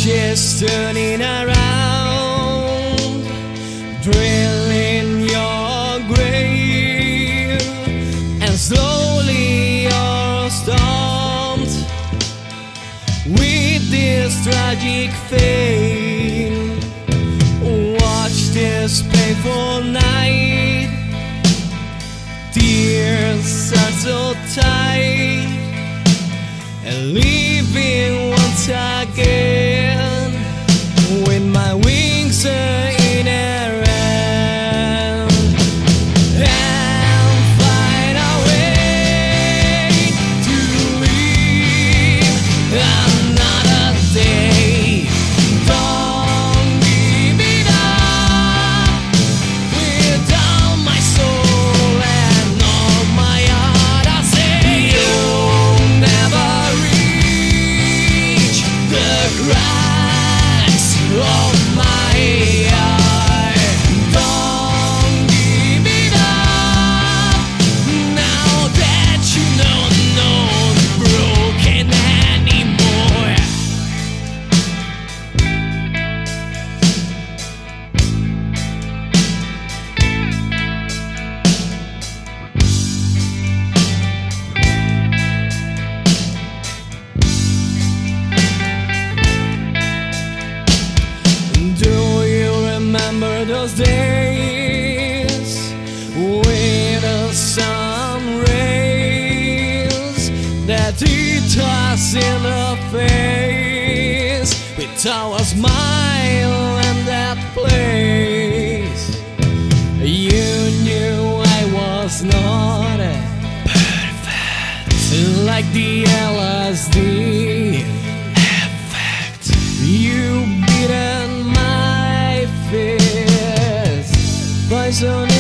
She's turning around, drilling your grave, and slowly you're stumped with this tragic fate. Watch this painful night, tears are so tight, and leaving once again with my wings are in her hand, and find a way to live another day. Don't give it up with all my soul and all my heart. I say you'll never reach the cracks of my heart. Don't give it up now that you know not broken anymore. Do you remember those days with the sun rays that hit us in the face with our smile and that place? You knew I was not perfect, like the LSD effect. You beat my fist, poison